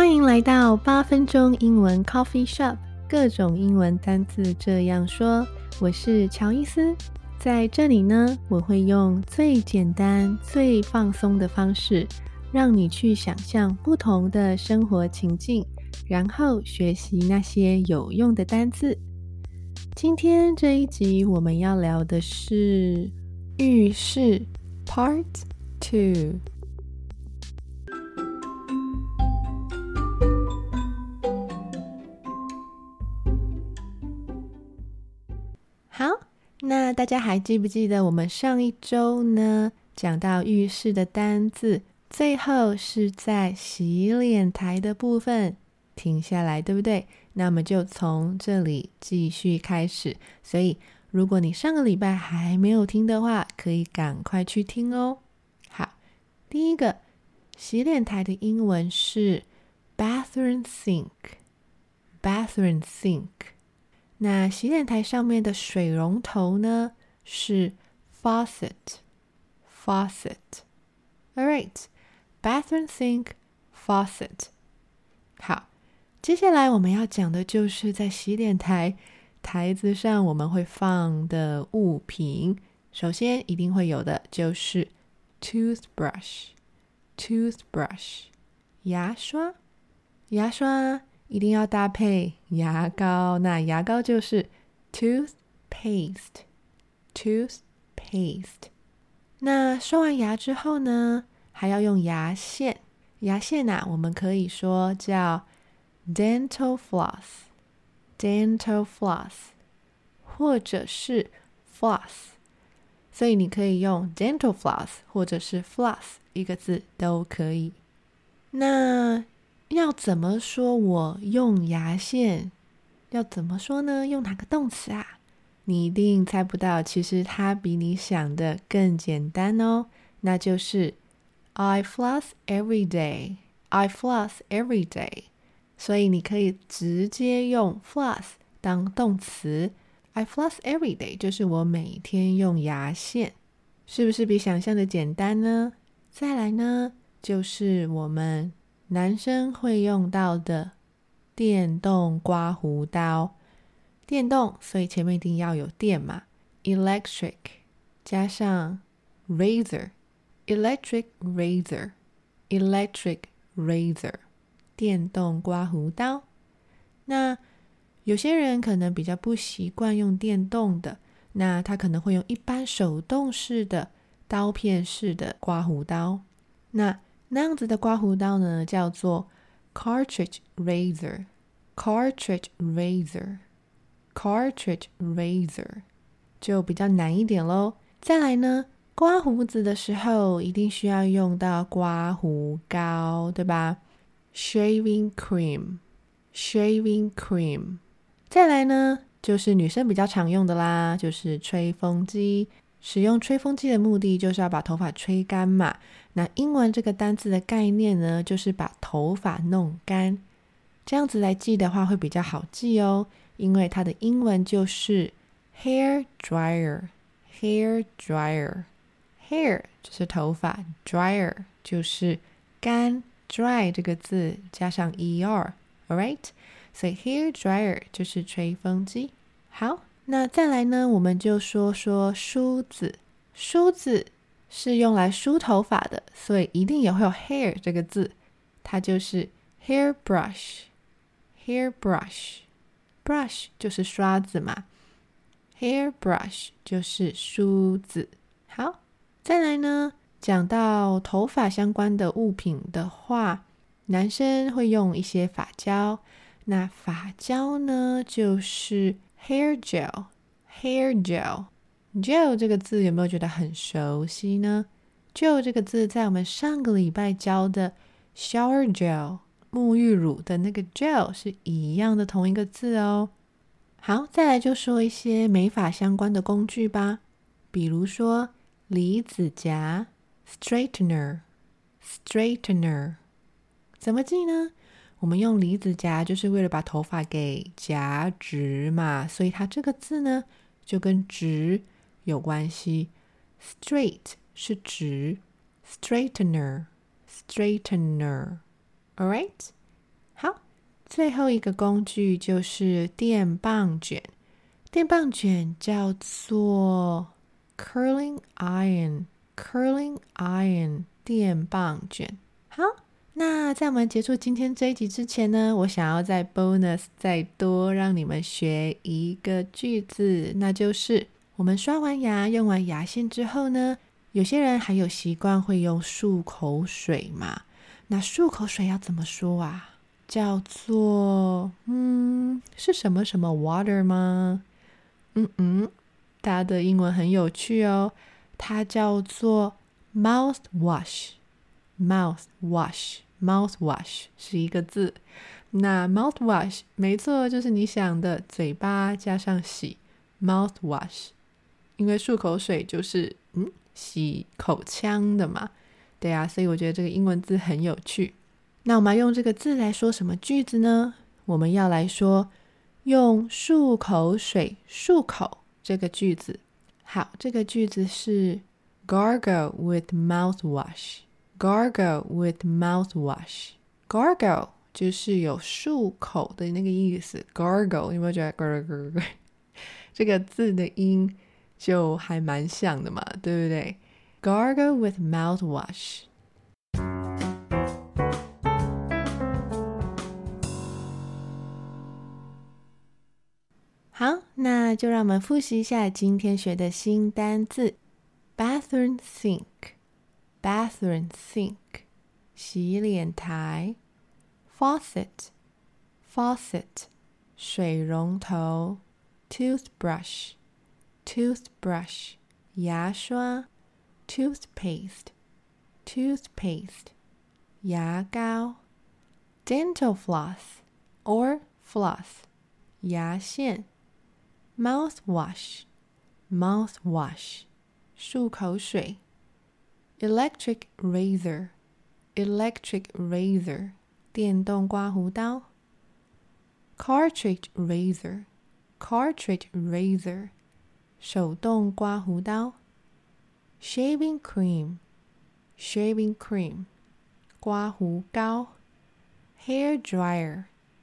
欢迎来到8分钟英文 Coffee Shop， 各种英文单字这样说。我是乔伊斯，在这里呢，我会用最简单、最放松的方式，让你去想象不同的生活情境，然后学习那些有用的单字。今天这一集我们要聊的是浴室 Part 2。好，那大家还记不记得我们上一周呢讲到浴室的单字，最后是在洗脸台的部分停下来，对不对？那我们就从这里继续开始，所以如果你上个礼拜还没有听的话，可以赶快去听哦。好，第一个洗脸台的英文是 bathroom sink， bathroom sink。那洗脸台上面的水龙头呢是 faucet。 Alright, bathroom sink, faucet。 好，接下来我们要讲的就是在洗脸台台子上我们会放的物品。首先一定会有的就是 toothbrush， 牙刷一定要搭配牙膏，那牙膏就是 toothpaste。 那刷完牙之后呢，还要用牙线。牙线我们可以说叫 dental floss， 或者是 floss， 所以你可以用 dental floss 或者是 floss， 一个字都可以。那要怎么说我用牙线？要怎么说呢？用哪个动詞啊？你一定猜不到，其实它比你想的更简单哦。那就是 I floss every day， 所以你可以直接用 floss 当动词。I floss every day 就是我每天用牙线，是不是比想象的简单呢？再来呢，就是我们男生会用到的电动刮胡刀。电动，所以前面一定要有电嘛， electric 加上 razor， electric razor， 电动刮胡刀。那有些人可能比较不习惯用电动的，那他可能会用一般手动式的刀片式的刮胡刀。那样子的刮胡刀呢，叫做 cartridge razor， 就比较难一点咯。再来呢，刮胡子的时候一定需要用到刮胡膏，对吧？ shaving cream。 再来呢，就是女生比较常用的啦，就是吹风机。使用吹风机的目的就是要把头发吹干嘛。那英文这个单字的概念呢，就是把头发弄干。这样子来记的话会比较好记哦，因为它的英文就是 hair dryer。 hair 就是头发， dryer 就是干， dry 这个字加上 er， alright， 所以 hair dryer 就是吹风机。好，那再来呢，我们就说梳子。梳子是用来梳头发的，所以一定也会有 hair 这个字，它就是 hairbrush。 brush 就是刷子嘛， hairbrush 就是梳子。好，再来呢，讲到头发相关的物品的话，男生会用一些发胶。那发胶呢，就是 hair gel。 gel 这个字有没有觉得很熟悉呢？ gel 这个字在我们上个礼拜教的 shower gel 沐浴乳的那个 gel 是一样的同一个字哦。好，再来就说一些美发相关的工具吧，比如说离子夹 straightener。 怎么记呢？我们用离子夹就是为了把头发给夹直嘛，所以它这个字呢就跟直有关系。 straight 是直， straightener。 Alright， 好，最后一个工具就是电棒卷。电棒卷叫做 curling iron 电棒卷。好，那在我们结束今天这一集之前呢，我想要在 bonus 再多让你们学一个句子，那就是我们刷完牙用完牙线之后呢，有些人还有习惯会用漱口水嘛，那漱口水要怎么说啊？叫做是什么什么 water 吗？它的英文很有趣哦，它叫做 mouthwash 是一个字。那 mouthwash 没错，就是你想的嘴巴加上洗 mouthwash， 因为漱口水就是洗口腔的嘛，对啊，所以我觉得这个英文字很有趣。那我们要用这个字来说什么句子呢？我们要来说用漱口水漱口这个句子。好，这个句子是 gargle with mouthwash gargle 就是有漱口的那个意思。 gargle 有没有觉得 gargle 这个字的音就还蛮像的嘛，对不对？ gargle with mouthwash。好，那就让我们复习一下今天学的新单字。 bathroom sink 洗脸台。 faucet 水龙头。 toothbrush 牙刷。 toothpaste 牙膏。 dental floss or floss 牙线。 mouthwash 漱口水。 electric razor 电动刮胡刀。 cartridge razor 手动刮胡刀。 shaving cream 刮胡膏。 hair dryer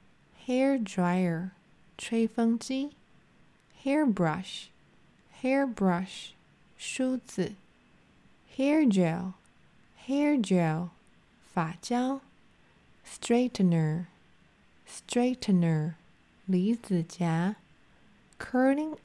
吹风机。 hairbrush 梳子。 hair gel 发胶。 straightener 离子夹。 curling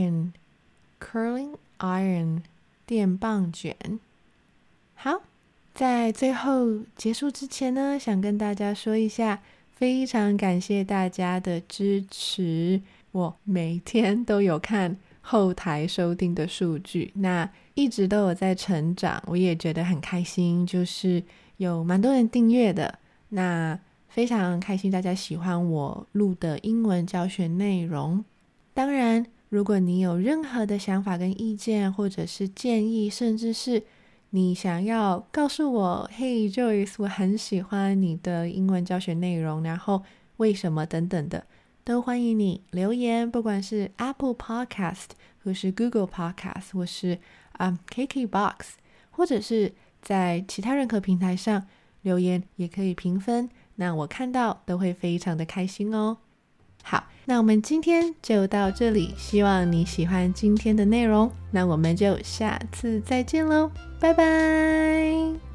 iron 电棒卷。好，在最后结束之前呢，想跟大家说一下，非常感谢大家的支持，我每天都有看后台收听的数据，那一直都有在成长，我也觉得很开心，就是有蛮多人订阅的，那非常开心大家喜欢我录的英文教学内容。当然如果你有任何的想法跟意见，或者是建议，甚至是你想要告诉我 Hey Joyce 我很喜欢你的英文教学内容，然后为什么等等的，都欢迎你留言，不管是 Apple Podcast 或是 Google Podcast 或是KKBOX， 或者是在其他任何平台上留言也可以评分，那我看到都会非常的开心哦。好，那我们今天就到这里，希望你喜欢今天的内容，那我们就下次再见咯，拜拜。